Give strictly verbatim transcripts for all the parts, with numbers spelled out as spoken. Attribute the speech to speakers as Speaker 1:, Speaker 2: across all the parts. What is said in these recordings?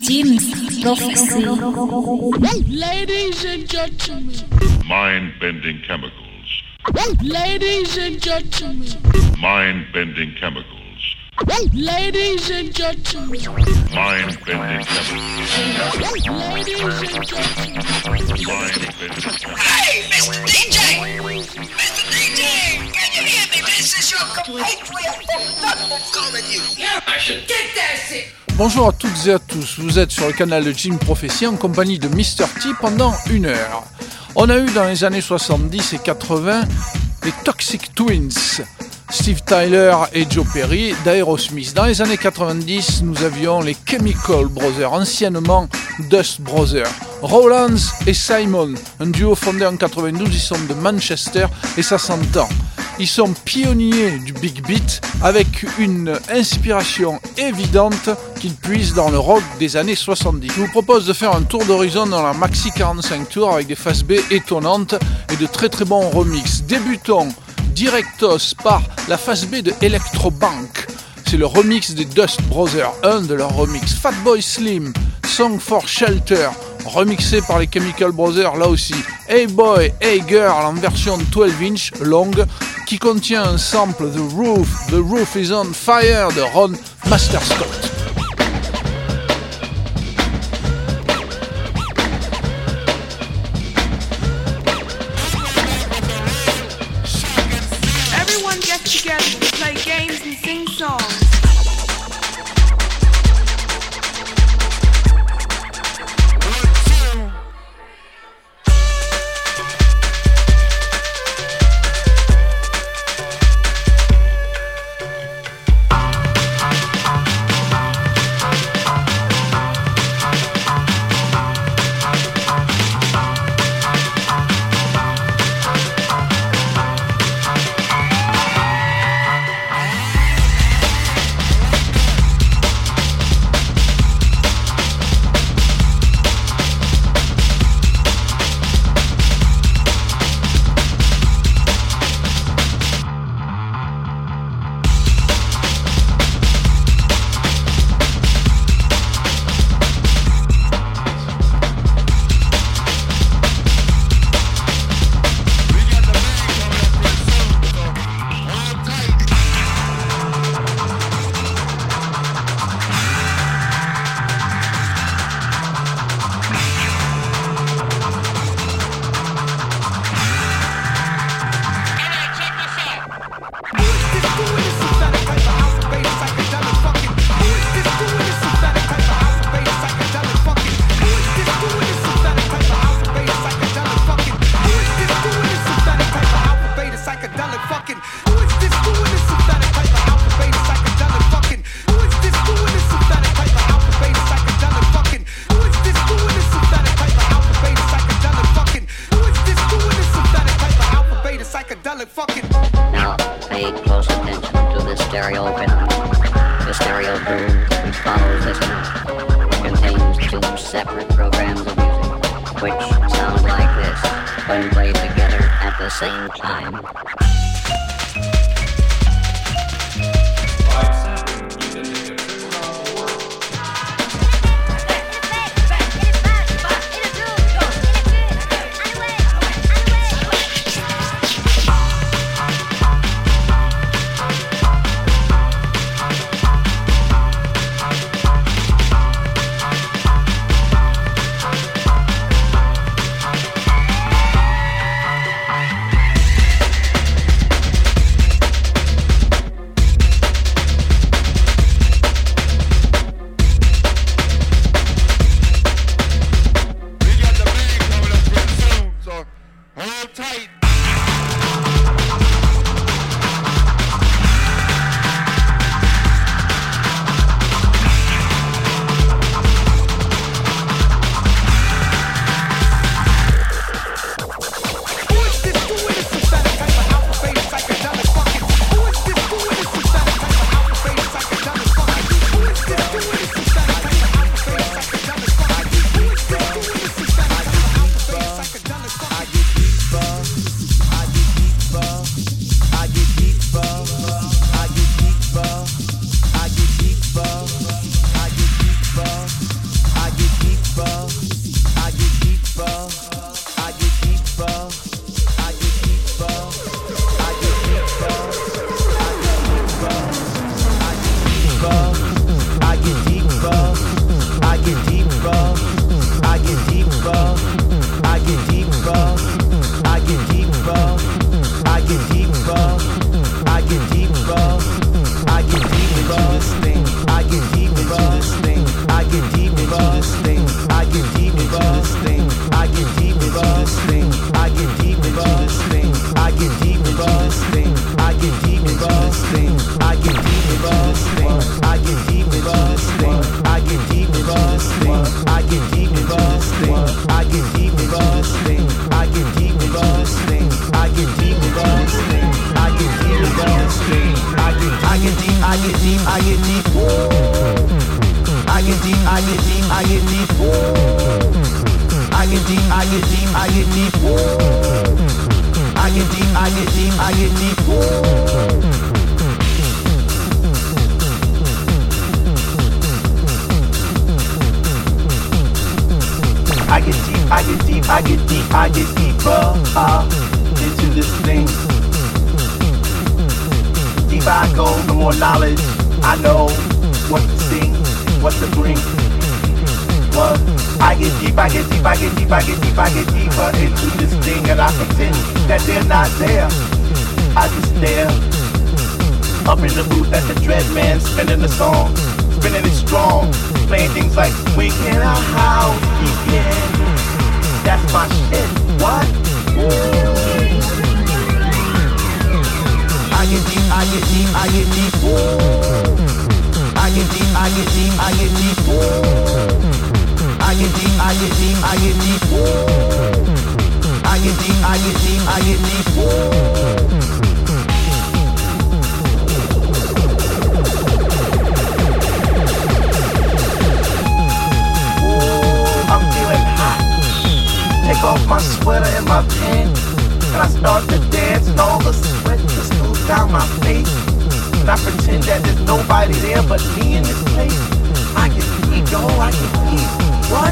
Speaker 1: Jim's Prophecy.
Speaker 2: Ladies and gentlemen.
Speaker 3: Mind-bending chemicals.
Speaker 2: Ladies and gentlemen.
Speaker 3: Mind-bending chemicals.
Speaker 2: Ladies and gentlemen.
Speaker 3: Mind-bending chemicals.
Speaker 2: Ladies and gentlemen.
Speaker 3: Mind-bending chemicals.
Speaker 4: Hey, Mister D J! Mister D J! Can you hear me? This is your compatriot from London calling you. Yeah, I should get that shit.
Speaker 5: Bonjour à toutes et à tous, vous êtes sur le canal de Jim Prophecy en compagnie de Mister T pendant une heure. On a eu dans les années soixante-dix et quatre-vingts les Toxic Twins, Steve Tyler et Joe Perry d'Aerosmith. Dans les années quatre-vingt-dix, nous avions les Chemical Brothers, anciennement Dust Brothers. Rowlands et Simon, un duo fondé en quatre-vingt-douze, ils sont de Manchester et ça s'entend. Ils sont pionniers du big beat avec une inspiration évidente qu'ils puisent dans le rock des années soixante-dix. Je vous propose de faire un tour d'horizon dans la Maxi quarante-cinq Tour avec des phases B étonnantes et de très très bons remixes. Débutons directos par la phase B de Electrobank. C'est le remix des Dust Brothers, un de leurs remixes. Fatboy Slim, Song for Shelter, remixé par les Chemical Brothers là aussi. Hey Boy, Hey Girl en version douze inch longue qui contient un sample The Roof, The Roof is on Fire de Ron Masterscott.
Speaker 2: Everyone gets together to play games and sing songs.
Speaker 1: get deep. I get deep, I get deep, I get deep. I get deep, I get deep, I get deep. I get deep, I get deep, I get deep, I get deeper uh, into this thing. The deeper I go, the more knowledge I know what to sing, what to bring. What? I get deep, I get deep, I get deep, I get deep, I get deeper into this thing, and I pretend that they're not there. I just stare up in the booth at the Dread Man spinning the song, spinning it strong, playing things like we can our house begin. That's my shit. What? I get deep, I get deep, I get deep. I get deep, I get deep, I get deep. I get deep, I get deep, I get deep. I get deep, I get deep, I get deep. I'm feeling hot. Take off my sweater and my pants, and I start to dance, and all the sweat just goes down my face. And I pretend that there's nobody there but me in this place. I get deep, yo, I get deep. What?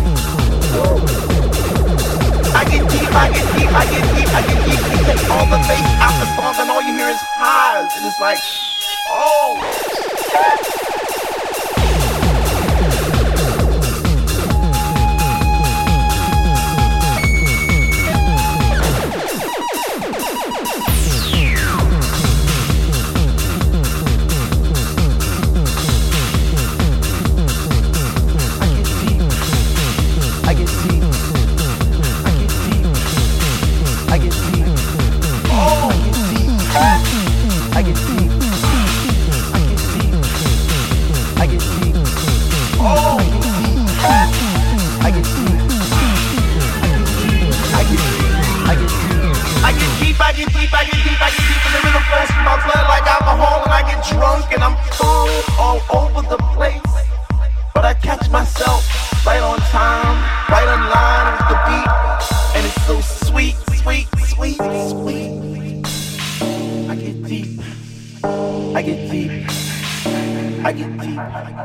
Speaker 1: I get deep, I get deep, I get deep, I get deep. You take all the bass out the song, and all you hear is highs, and it's like, oh, shit. Drunk and I'm falling all over the place, but I catch myself right on time, right on line with the beat, and it's so sweet, sweet, sweet, sweet. I get deep, I get deep, I get deep.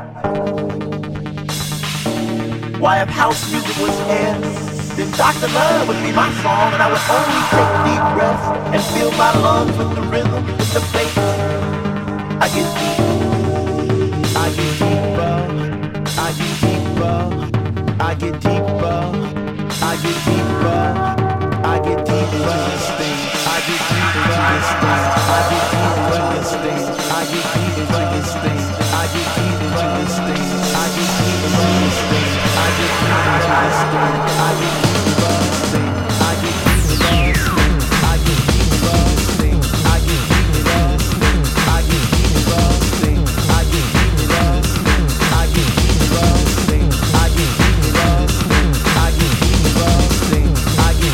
Speaker 1: Why if house music was air, then Doctor Love would be my song, and I would only take deep breaths and fill my lungs with the rhythm, with the bass. I get deep, I get deeper, I get deeper, I get deeper, I get deeper, I get deeper, I get deeper, I get deeper, I get deeper, I get deeper, I get deeper, I get deeper, I get I get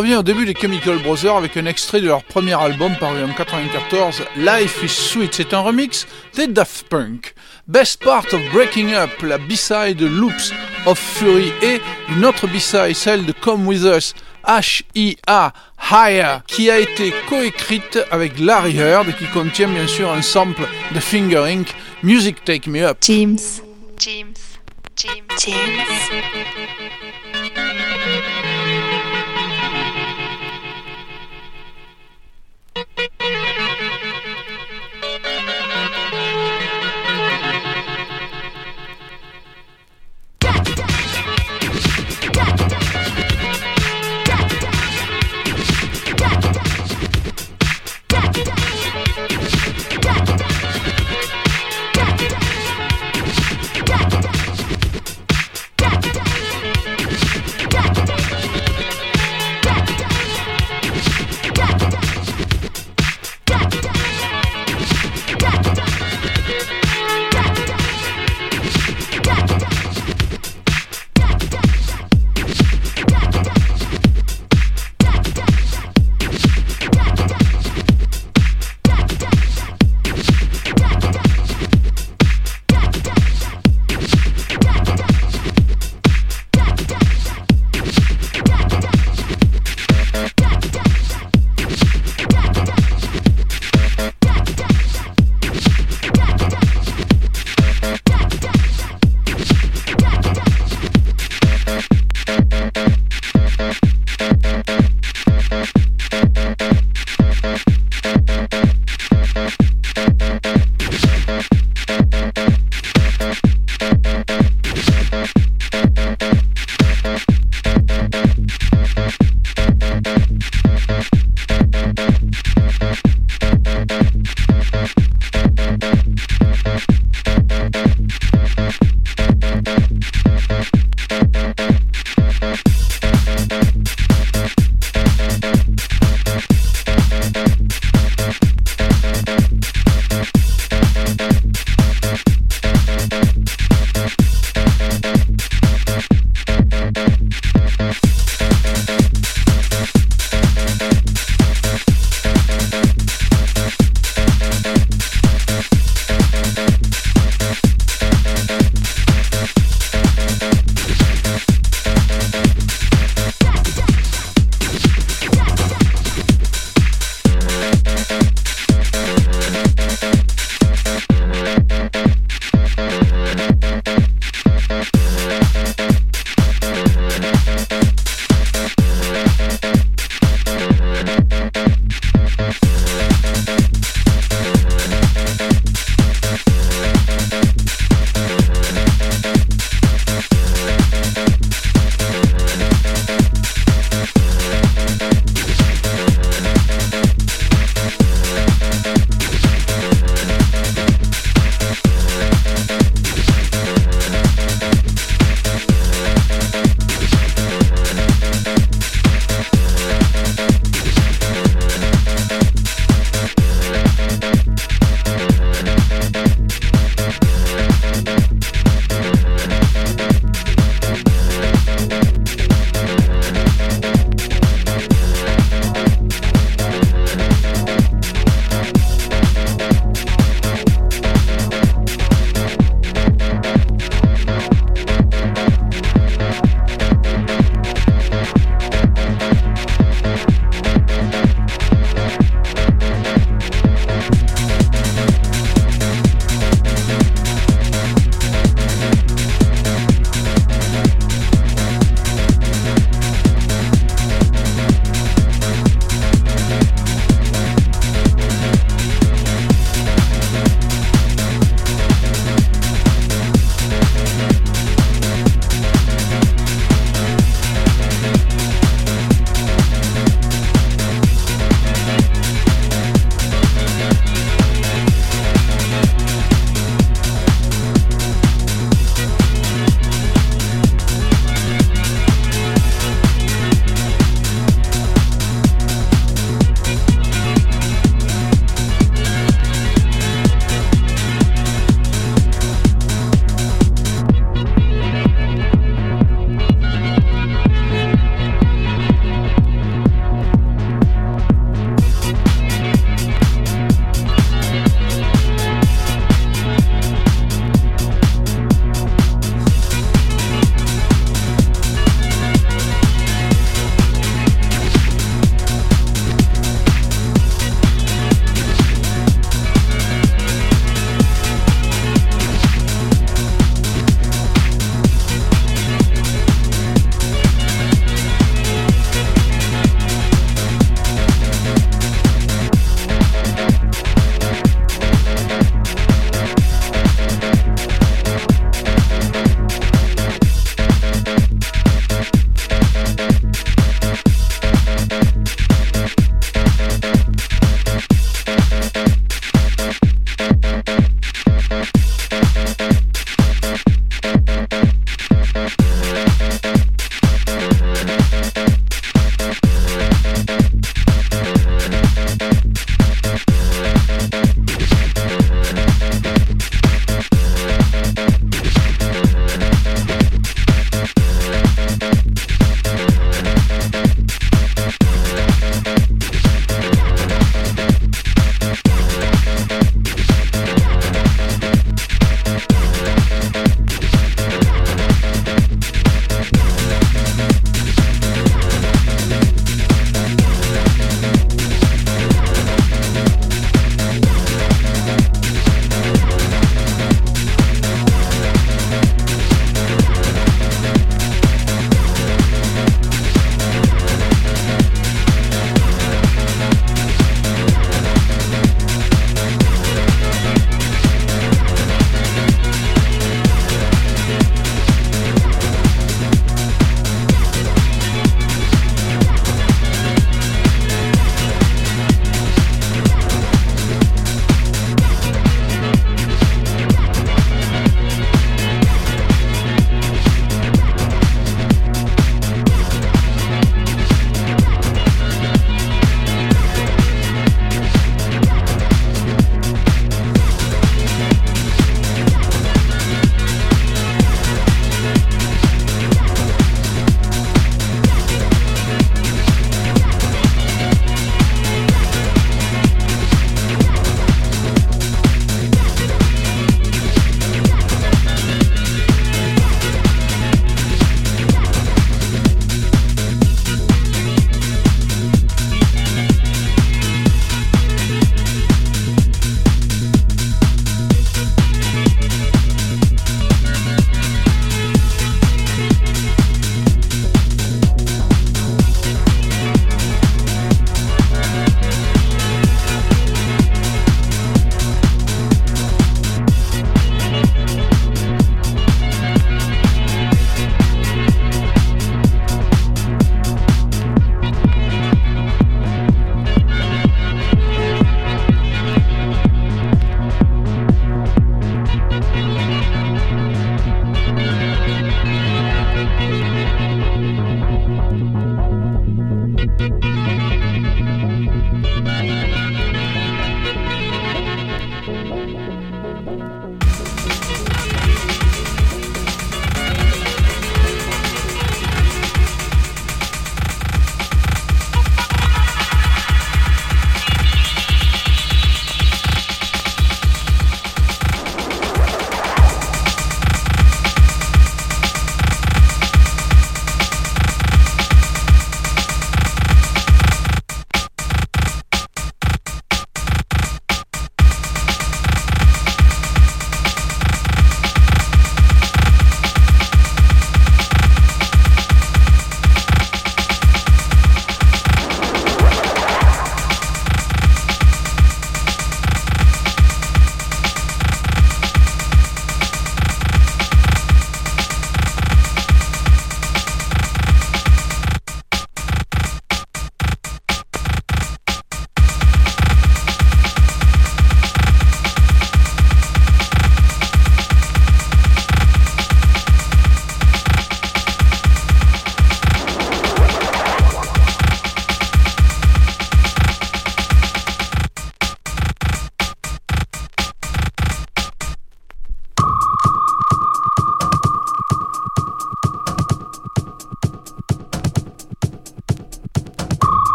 Speaker 5: revient au début des Chemical Brothers avec un extrait de leur premier album paru en quatre-vingt-quatorze, Life is Sweet. C'est un remix des Daft Punk. Best Part of Breaking Up, la B-side Loops of Fury et une autre B-side, celle de Come With Us, H I A, Higher, qui a été coécrite avec Larry Heard et qui contient bien sûr un sample de Finger Incorporated, Music Take Me Up.
Speaker 6: James, James, James, James.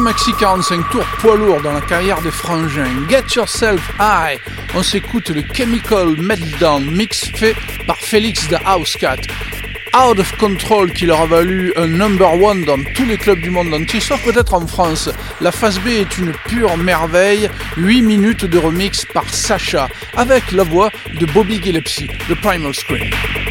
Speaker 5: maxi quarante-cinq tours poids lourd dans la carrière des frangins. Get Yourself High. On s'écoute le Chemical Meltdown mix fait par Félix the Housecat. Out of Control qui leur a valu un number one dans tous les clubs du monde entier, sauf peut-être en France. La phase B est une pure merveille, huit minutes de remix par Sacha, avec la voix de Bobby Gillespie, de Primal Scream.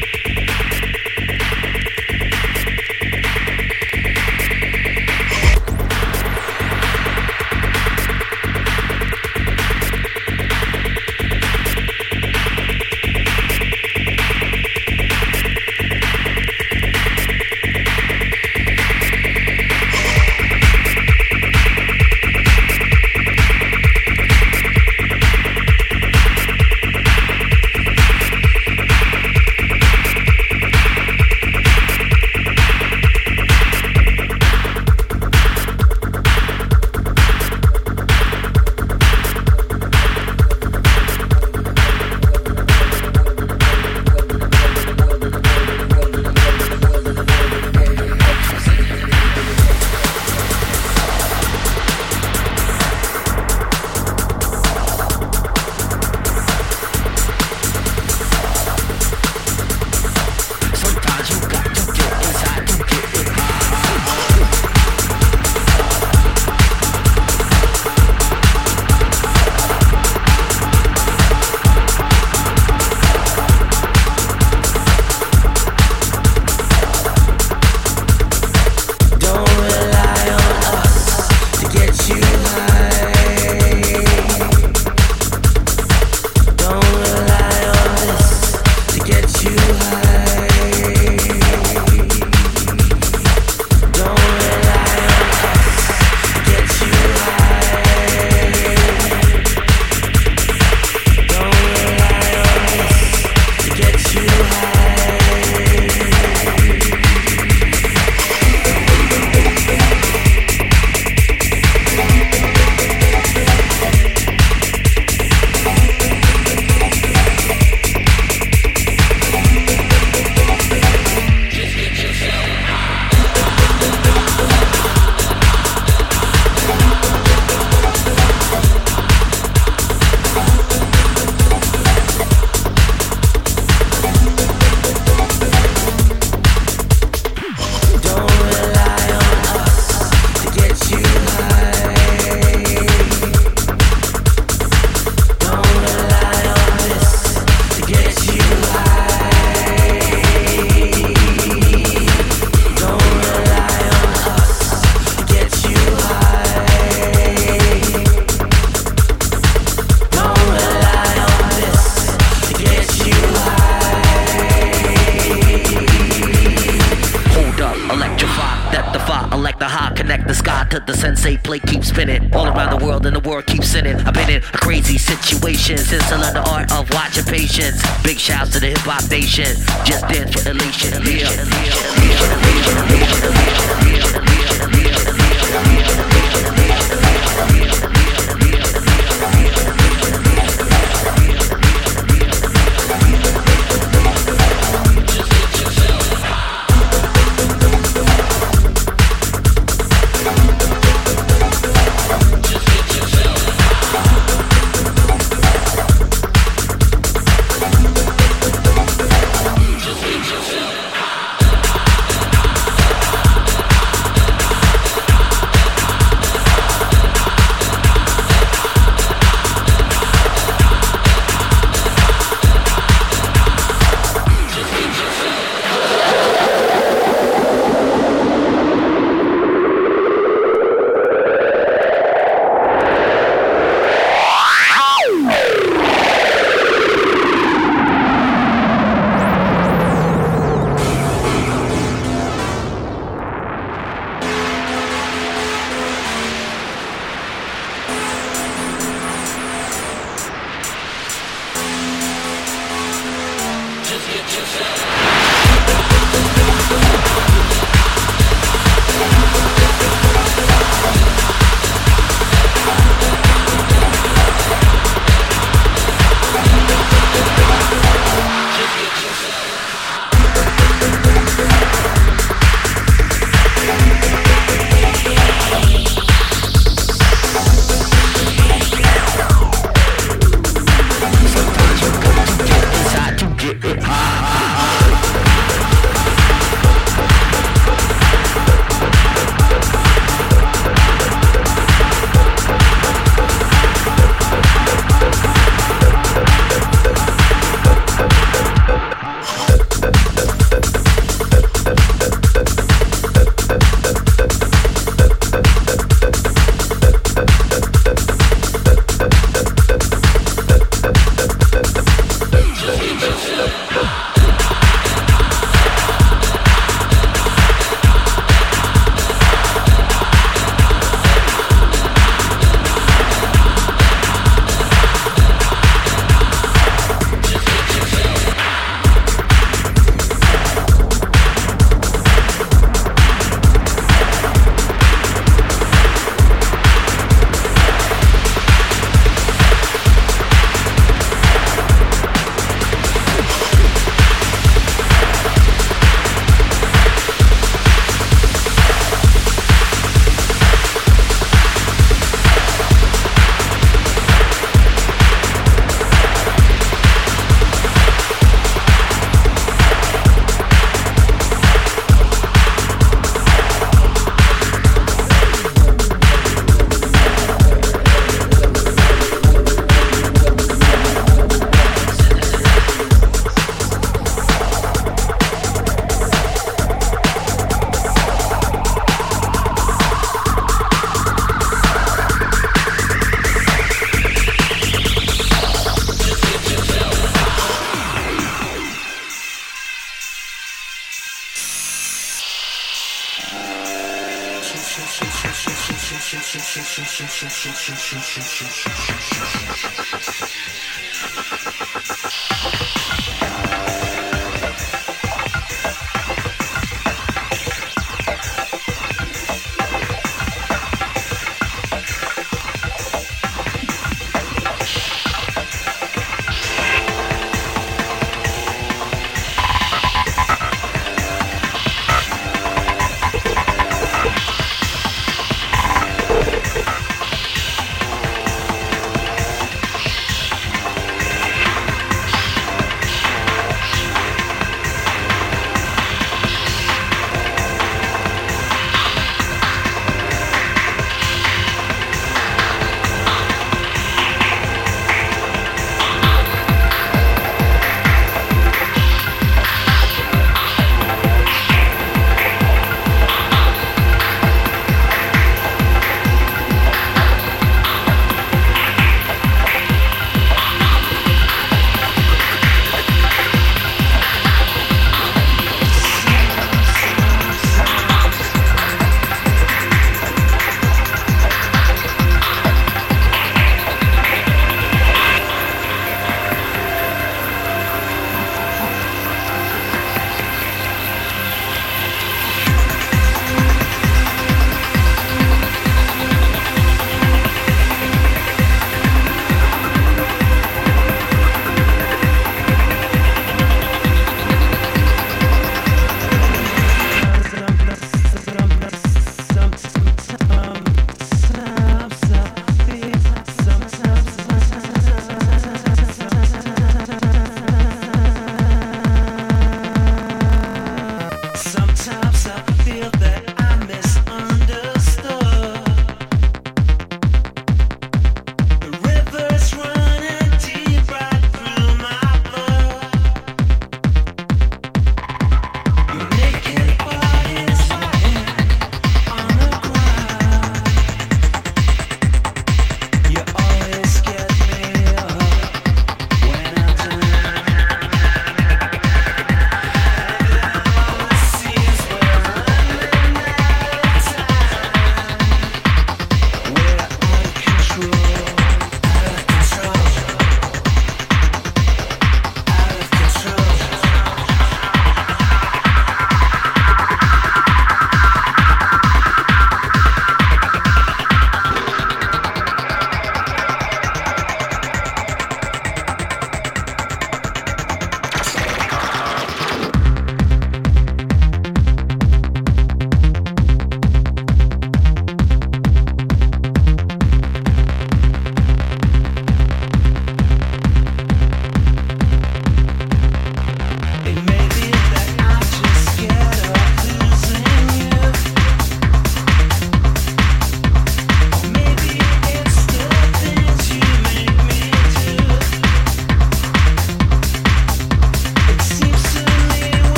Speaker 7: Since I learned the art of watching patience. Big shouts to the hip hop nation. Just dance for elation.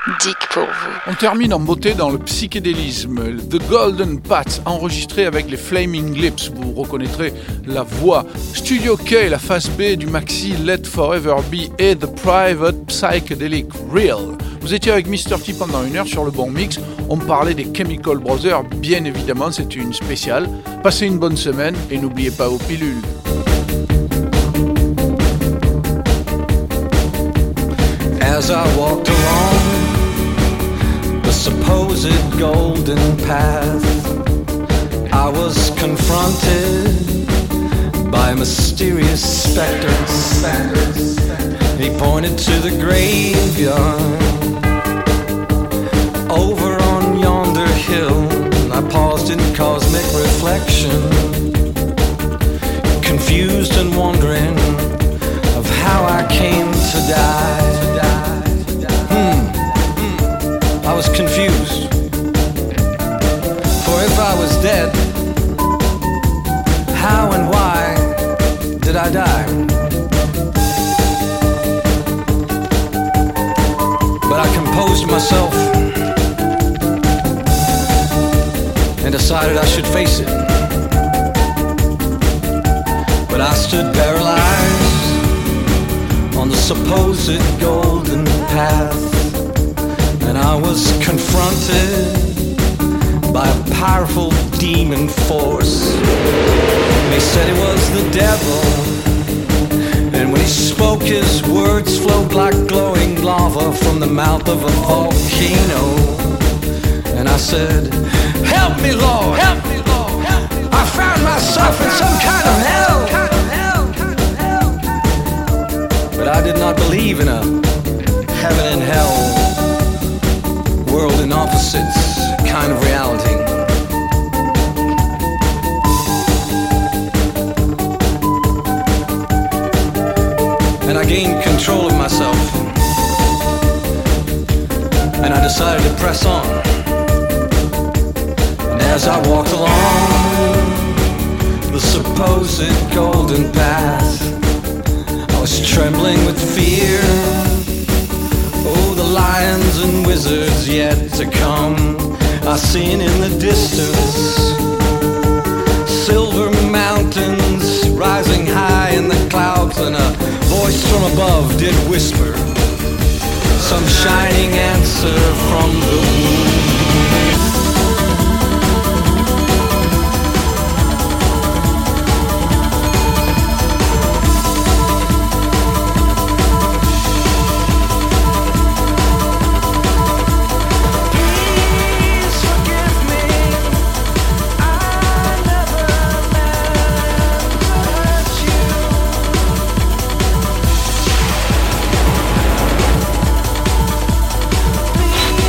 Speaker 6: Dick pour vous.
Speaker 5: On termine en beauté dans le psychédélisme. The Golden Path, enregistré avec les Flaming Lips. Vous reconnaîtrez la voix. Studio K, la face B du maxi Let Forever Be et The Private Psychedelic Real. Vous étiez avec mister T pendant une heure sur le bon mix. On parlait des Chemical Brothers, bien évidemment, c'était une spéciale. Passez une bonne semaine et n'oubliez pas vos pilules.
Speaker 8: As I walked along the supposed golden path, I was confronted by a mysterious specter. He pointed to the graveyard over on yonder hill. I paused in cosmic reflection, confused and wondering of how I came to die. Hmm, I was confused. For if I was dead, how and why did I die? But I composed myself and decided I should face it. But I stood paralyzed on the supposed golden path, and I was confronted by a powerful demon force. They said it was the devil, and when he spoke his words flowed like glowing lava from the mouth of a volcano. And I said, help me, Lord, help me, Lord, help me, Lord. I found myself in some kind of hell. But I did not believe in a heaven and hell, world in opposites kind of reality. And I gained control of myself, and I decided to press on. And as I walked along the supposed golden path, I was trembling with fear. Oh, the lions and wizards yet to come, I seen in the distance silver mountains rising high in the clouds, and a voice from above did whisper some shining answer from the womb. Please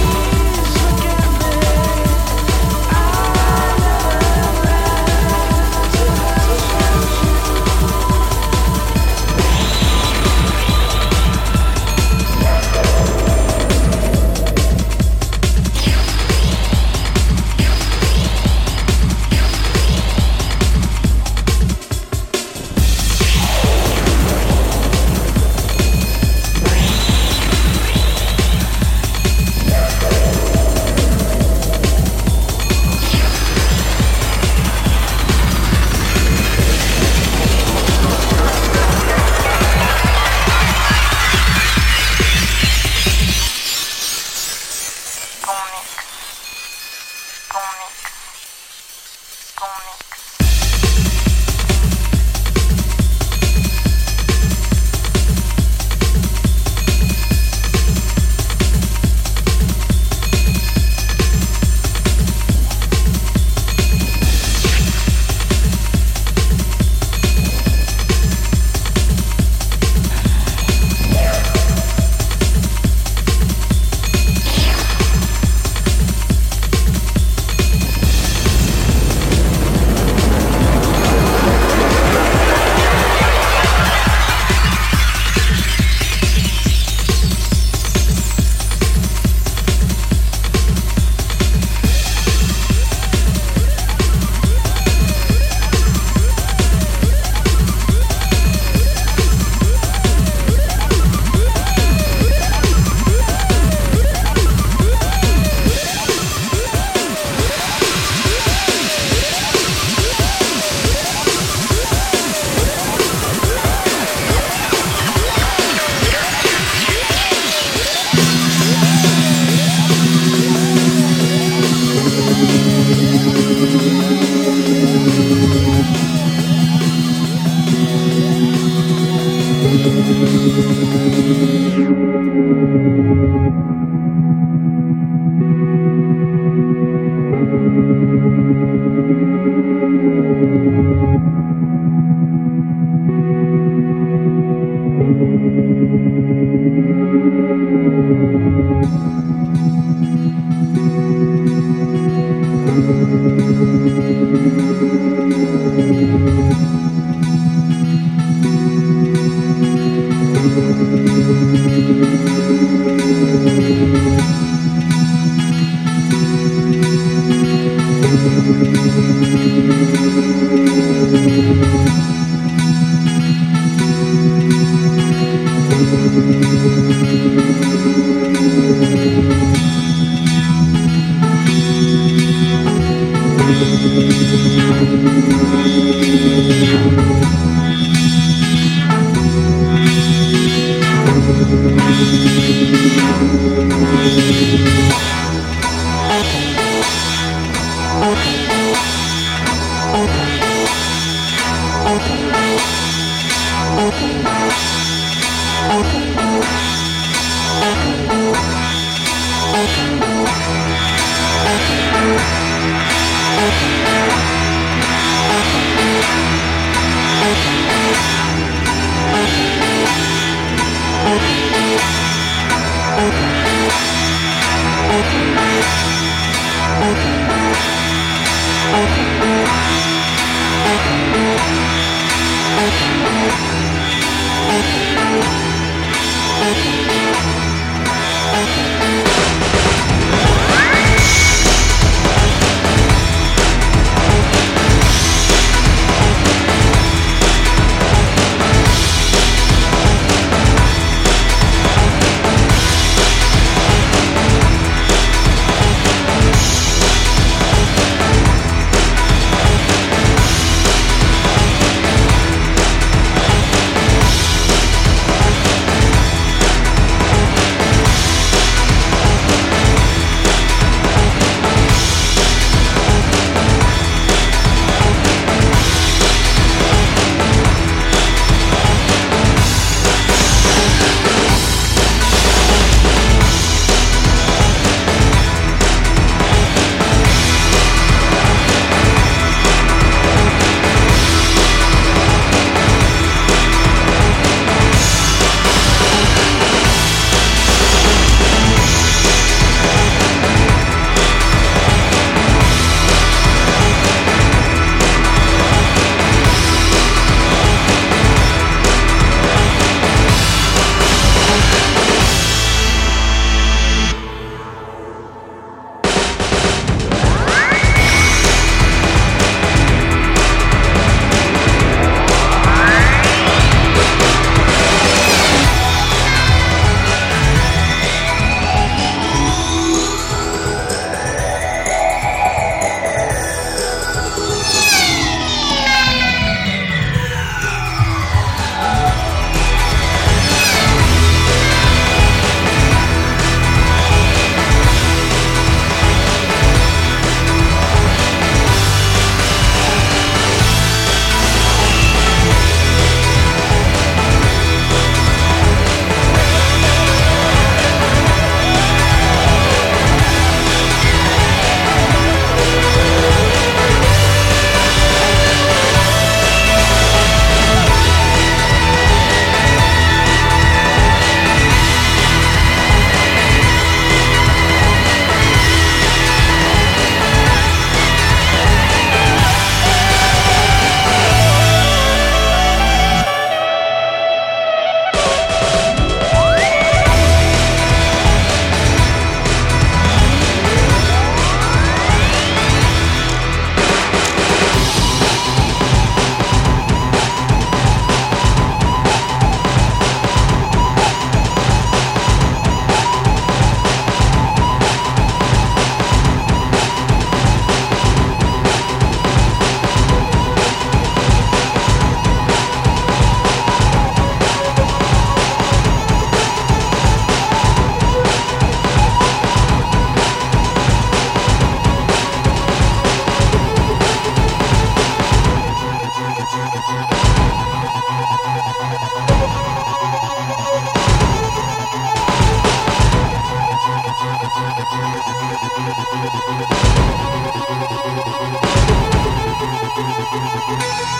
Speaker 9: Thank you.